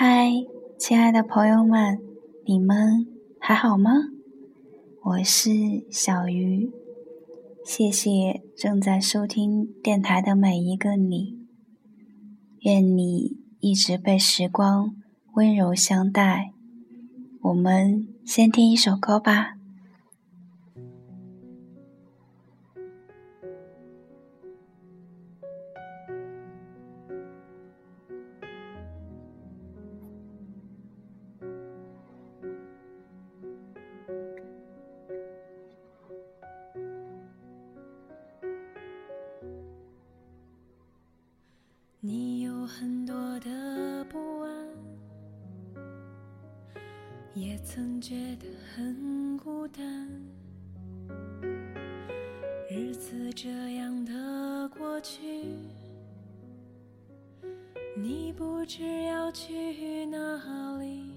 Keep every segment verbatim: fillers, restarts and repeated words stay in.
嗨，亲爱的朋友们，你们还好吗？我是小鱼，谢谢正在收听电台的每一个你。愿你一直被时光温柔相待。我们先听一首歌吧。 你有很多的不安，也曾觉得很孤单，日子这样的过去，你不知要去哪里。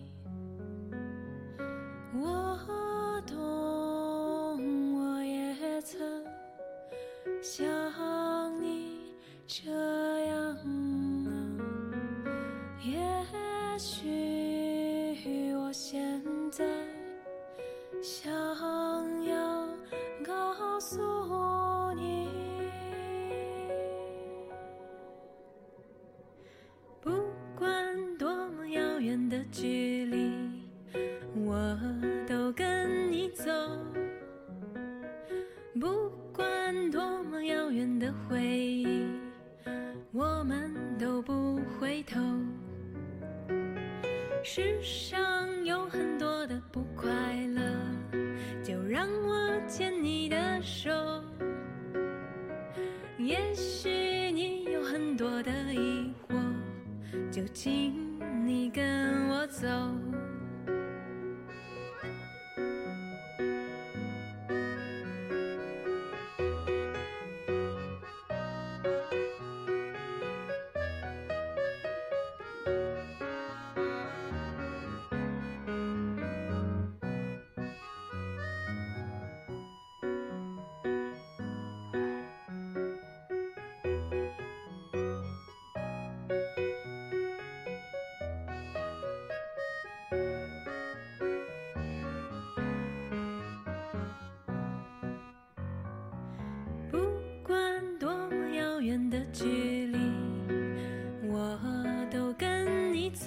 我懂，我也曾像你这样啊，也许我现在想要告诉你，不管多么遥远的距离，我都跟你走，不管多么遥远的回忆，我们都不回头。世上有很多的不快乐，就让我牵你的手。也许你有很多的疑惑，就请你跟我走。不管多么遥远的距离，我都跟你走，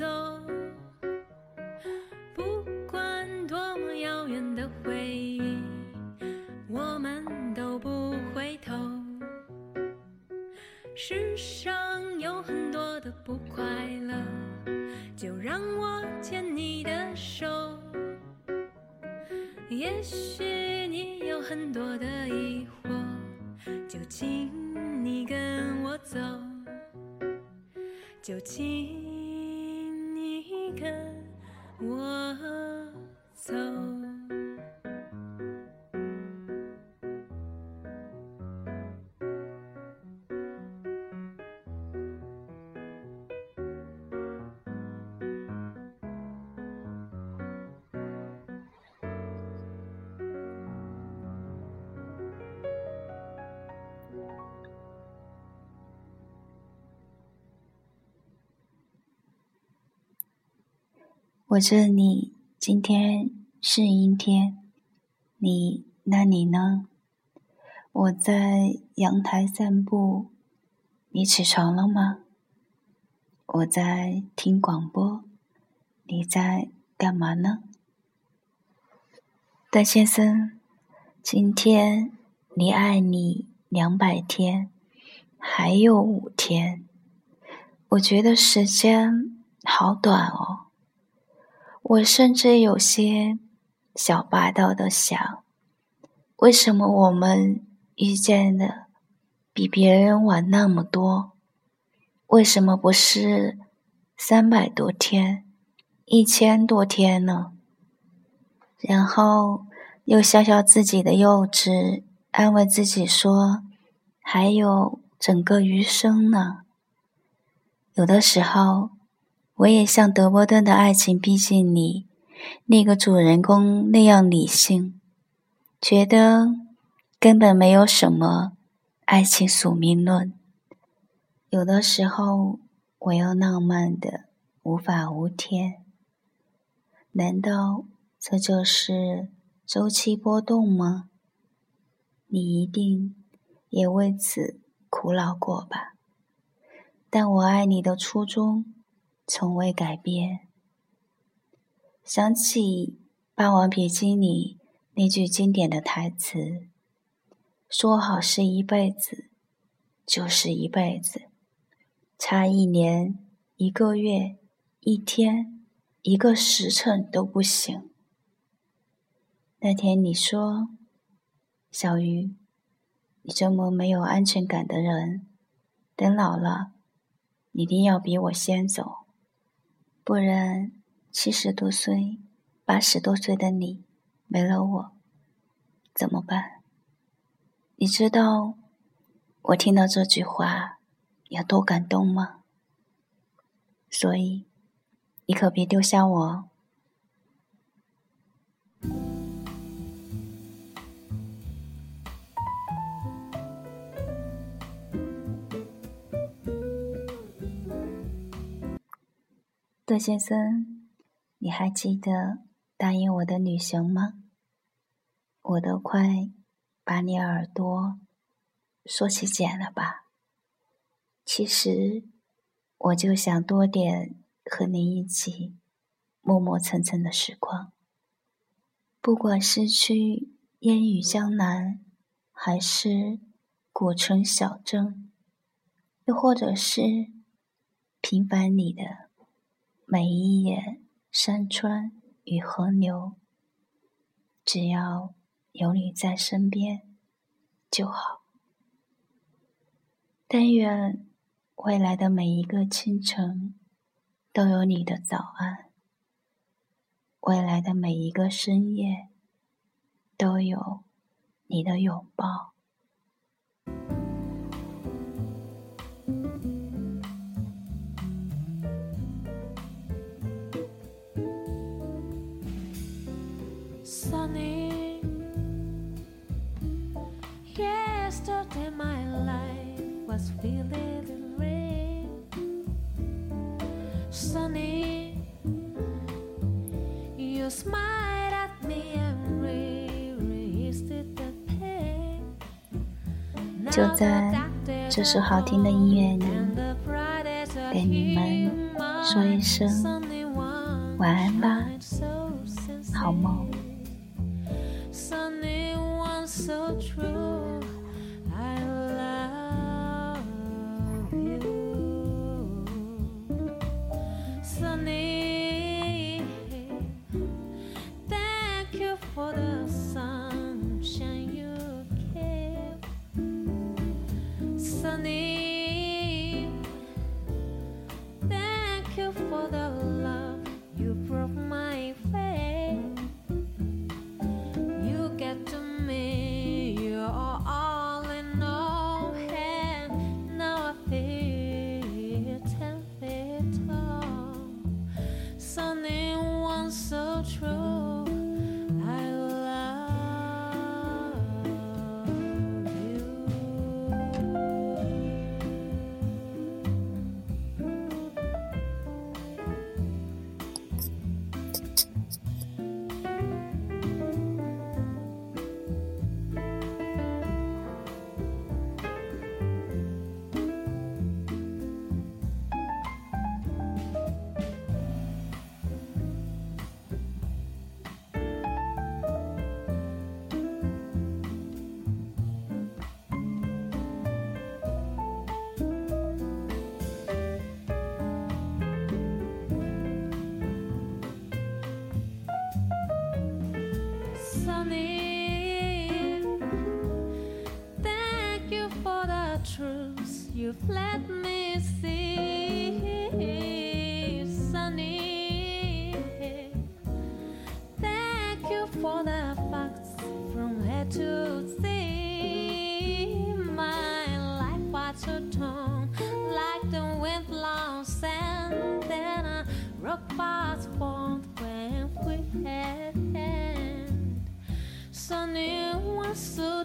不管多么遥远的回忆，我们都不回头。世上有很多的不快乐，就让我牵你的手。也许你有很多的疑惑，就请你跟我走，就请你跟我走。 我这里今天是阴天，你那里呢？我在阳台散步，你起床了吗？我在听广播，你在干嘛呢？段先生，今天离爱你两百天还有五天，我觉得时间好短哦。我甚至有些小霸道的想，为什么我们遇见的比别人晚那么多？为什么不是三百多天、一千多天呢？然后又笑笑自己的幼稚，安慰自己说，还有整个余生呢。有的时候，我也像德伯顿的爱情逼近你那个主人公那样理性，觉得根本没有什么爱情宿命论。有的时候我又浪漫的无法无天。难道这就是周期波动吗？你一定也为此苦恼过吧？但我爱你的初衷从未改变。想起《霸王别姬》里那句经典的台词，说好是一辈子，就是一辈子，差一年、一个月、一天、一个时辰都不行。那天你说，小鱼，你这么没有安全感的人，等老了你一定要比我先走，不然七十多岁、八十多岁的你没了我怎么办？你知道我听到这句话有多感动吗？所以你可别丢下我哦。段先生，你还记得答应我的旅行吗？我都快把你耳朵说起茧了吧。其实我就想多点和你一起默默层层的时光，不管是去烟雨江南，还是古城小镇，又或者是平凡里的每一眼山川与河流，只要有你在身边就好。但愿未来的每一个清晨都有你的早安，未来的每一个深夜都有你的拥抱。 Sunny, yesterday my life was filled with rain. Sunny, you smiled at me and raised the pain. 就在这首好听的音乐里，给你们说一声晚安吧，好梦。 Sunny one so true, I love you. Sunny, thank you for the sunshine you gave. Sunny, thank you for the love you brought my way. You get to me, you're all in all, and now I feel ten feet tall. Sunny one so true, I love you. Sunny, thank you for the truth you've let me see. Sunny, thank you for the facts from A to Z. My life was so torn like the wind blown sand, then a rock was formed when we had. Sunny was so